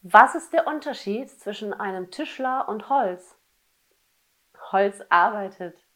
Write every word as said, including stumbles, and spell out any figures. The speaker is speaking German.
Was ist der Unterschied zwischen einem Tischler und Holz? Holz arbeitet.